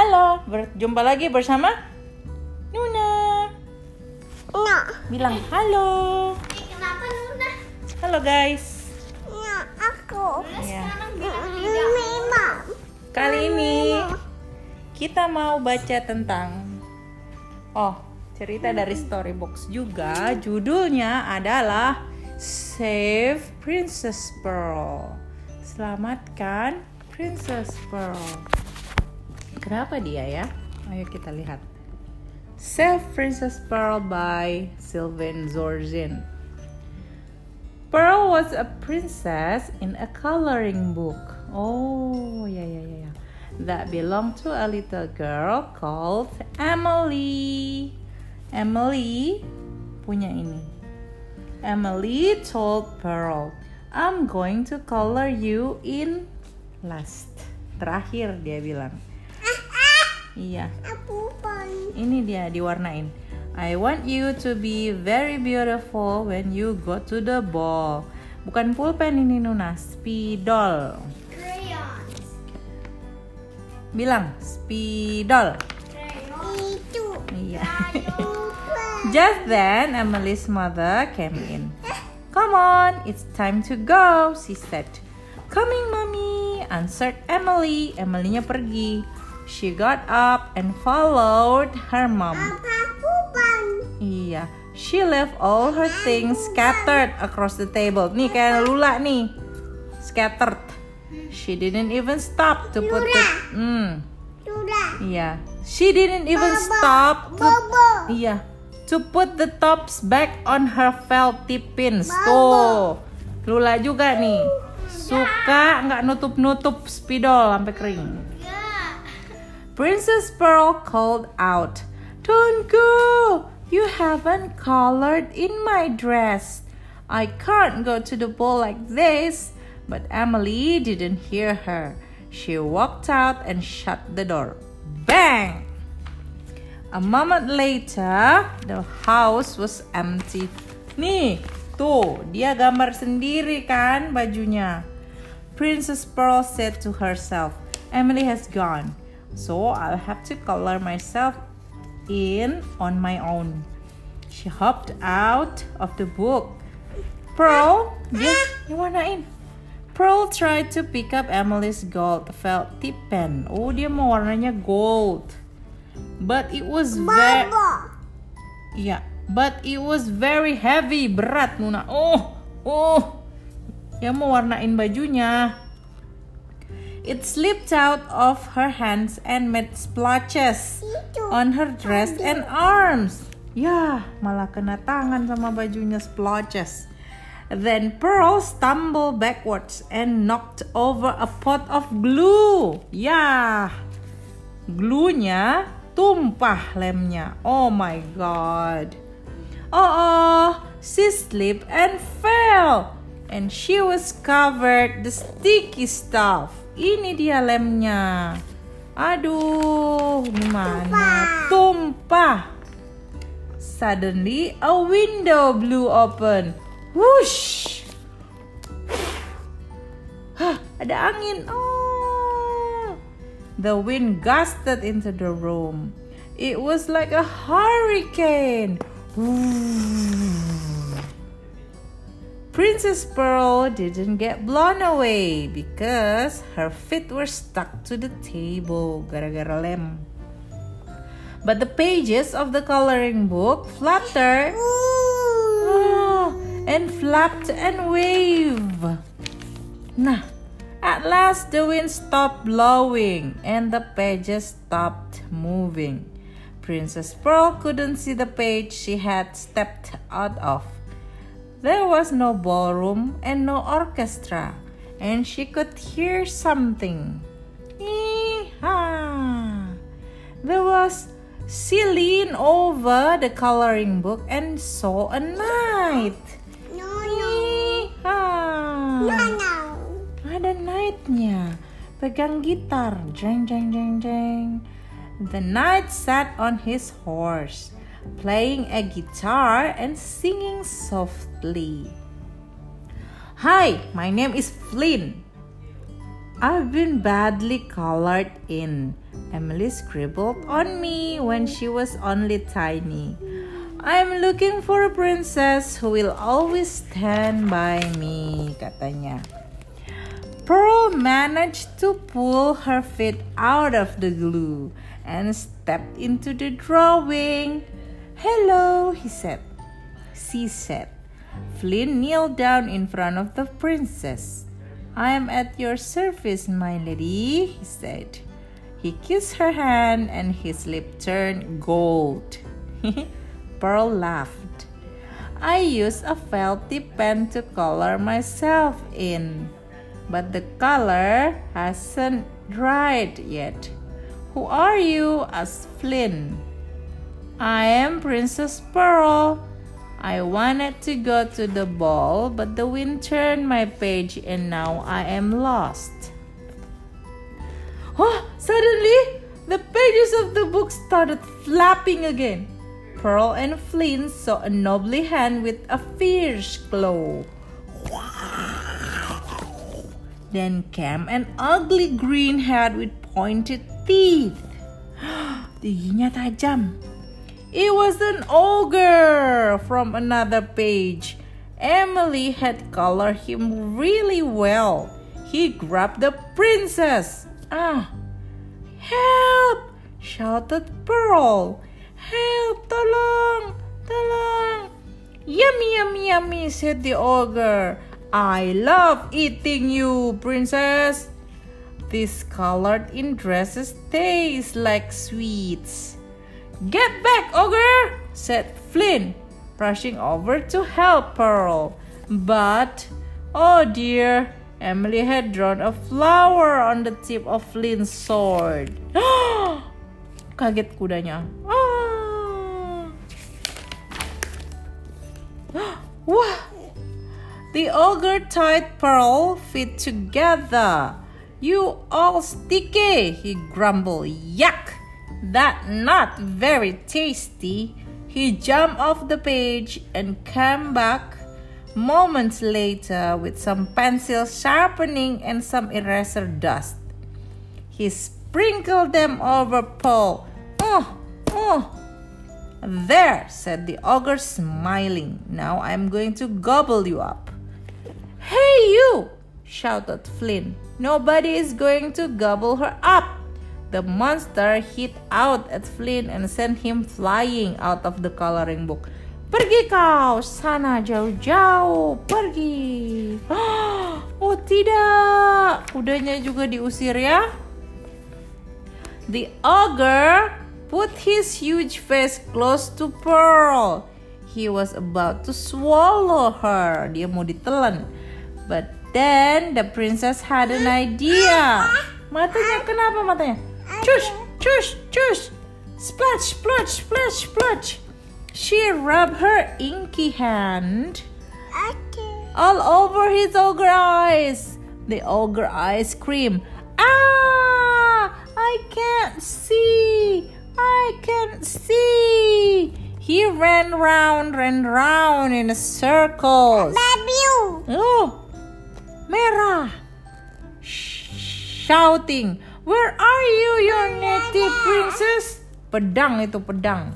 Halo, berjumpa lagi bersama Nuna. Bilang halo. Kenapa Nuna? Halo guys. Aku. Ya. Sekarang bilang tidak. Kali ini kita mau baca tentang cerita dari Storybox juga. Judulnya adalah Save Princess Pearl. Selamatkan Princess Pearl. Kenapa dia ya? Ayo kita lihat. Save Princess Pearl by Sylvain Zorzin. Pearl was a princess in a coloring book. Oh, ya. That belonged to a little girl called Emily. Emily punya ini. Emily told Pearl, "I'm going to color you in last." Terakhir dia bilang. Iya. Ini dia diwarnain. I want you to be very beautiful when you go to the ball. Bukan pulpen ini Nuna, spidol. Crayons. Bilang spidol. Itu. Iya. Just then Emily's mother came in. Come on, it's time to go, she said. Coming, mommy, answered Emily. Emily-nya pergi. She got up and followed her mom. Iya, she left all her things scattered across the table. Nih kayak Lula nih, scattered. She didn't even stop to put the. Iya, she didn't even stop to put the tops back on her felty pins. Tuh, Lula juga nih, suka nggak nutup spidol sampai kering. Princess Pearl called out, "Don't go! You haven't colored in my dress. I can't go to the ball like this." But Emily didn't hear her. She walked out and shut the door. Bang! A moment later, the house was empty. Nih, tuh, dia gambar sendiri kan bajunya. Princess Pearl said to herself, "Emily has gone. So I'll have to color myself in on my own." She hopped out of the book. Pearl, dia warnain. Pearl tried to pick up Emily's gold felt tip pen. Oh, dia mau warnanya gold. But it was very heavy, berat Nuna. Dia mau warnain bajunya. It slipped out of her hands and made splotches on her dress and arms. Ya, malah kena tangan sama bajunya, splotches. Then Pearl stumbled backwards and knocked over a pot of glue. Ya, glue-nya tumpah lemnya. Oh my god. She slipped and fell. And she was covered the sticky stuff. Ini dia lemnya. Aduh, gimana? Tumpah. Suddenly, a window blew open. Whoosh! Ada angin. The wind gusted into the room. It was like a hurricane. Princess Pearl didn't get blown away because her feet were stuck to the table gara-gara lem. But the pages of the coloring book fluttered and flapped and waved. Nah, at last the wind stopped blowing and the pages stopped moving. Princess Pearl couldn't see the page she had stepped out of. There was no ballroom and no orchestra, and she could hear something. She leaned over the coloring book and saw a knight. Ada knightnya, pegang gitar, jeng jeng jeng jeng. The knight sat on his horse, playing a guitar and singing softly. "Hi, my name is Flynn. I've been badly colored in. Emily scribbled on me when she was only tiny. I'm looking for a princess who will always stand by me, katanya. Pearl managed to pull her feet out of the glue and stepped into the drawing. Hello, she said. Flynn kneeled down in front of the princess. I am at your service, my lady, he said. He kissed her hand and his lip turned gold. Pearl laughed. I used a felt tip pen to color myself in, but the color hasn't dried yet. Who are you? asked Flynn. I am Princess Pearl. I wanted to go to the ball, but the wind turned my page and now I am lost. Oh, suddenly, the pages of the book started flapping again. Pearl and Flynn saw a knobbly hand with a fierce claw. Then came an ugly green head with pointed teeth. Giginya tajam. It was an ogre from another page. Emily had colored him really well. He grabbed the princess. Help! shouted Pearl. Help! Tolong! Tolong! Yummy, yummy, yummy, said the ogre. I love eating you, princess. These colored-in dresses taste like sweets. Get back, ogre, said Flynn, rushing over to help Pearl. But, oh dear, Emily had drawn a flower on the tip of Flynn's sword. Kaget kudanya. Wah! The ogre tied Pearl feet together. You all sticky, he grumbled. Yuck! That not very tasty. He jumped off the page and came back moments later with some pencil sharpening and some eraser dust. He sprinkled them over Pearl. There, said the ogre, smiling. Now I'm going to gobble you up. Hey, you! shouted Flynn. Nobody is going to gobble her up. The monster hit out at Flynn and sent him flying out of the coloring book. Pergi kau, sana jauh-jauh, pergi. Oh tidak, kudanya juga diusir ya. The ogre put his huge face close to Pearl. He was about to swallow her. Dia mau ditelan. But then the princess had an idea. Matanya, kenapa matanya? Chush, chush, chush. Splash, splash, splash, splash. She rubbed her inky hand all over his ogre eyes. The ogre eyes screamed, "Ah! I can't see! I can't see!" He ran round in a circle. Oh, merah! Shouting, "Where are you, your native princess?" Pedang itu, pedang.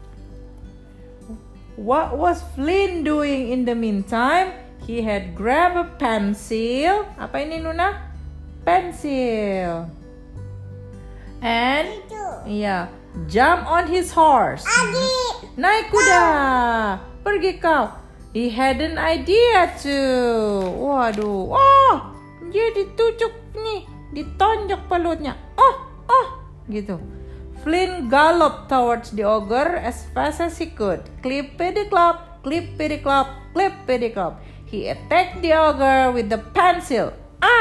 What was Flynn doing in the meantime? He had grabbed a pencil. Apa ini, Nuna? Pencil. And jump on his horse. Naik kuda. Pergi kau. He had an idea too. Waduh. Oh, dia ditucuk nih. Ditonjok pelutnya. Gitu. Flynn galloped towards the ogre as fast as he could. Clippity-clop, clippity-clop, clippity-clop. He attacked the ogre with the pencil.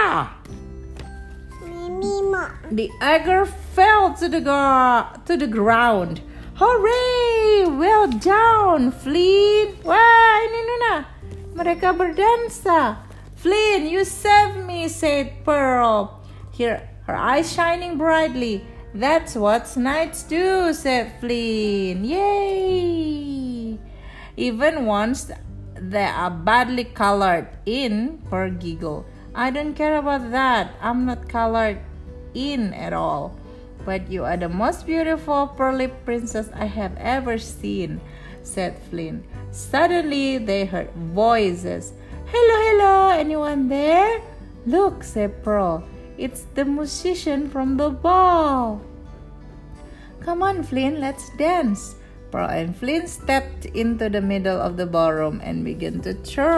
The ogre fell to the ground. Hooray! Well done, Flynn. Wah, ini Nuna. Mereka berdansa. Flynn, you saved me, said Pearl. Her eyes shining brightly. That's what knights do, said Flynn. Yay! Even once they are badly colored in, Pearl giggled. I don't care about that. I'm not colored in at all. But you are the most beautiful pearly princess I have ever seen, said Flynn. Suddenly they heard voices. Hello, hello, anyone there? Look, said Pearl. It's the musician from the ball. Come on, Flynn, let's dance. Pearl and Flynn stepped into the middle of the ballroom and began to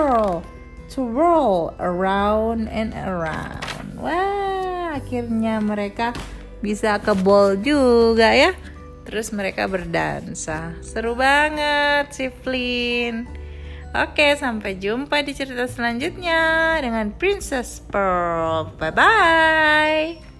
whirl around and around. Wah, akhirnya mereka bisa ke ball juga ya. Terus mereka berdansa. Seru banget si Flynn. Oke, sampai jumpa di cerita selanjutnya dengan Princess Pearl. Bye-bye.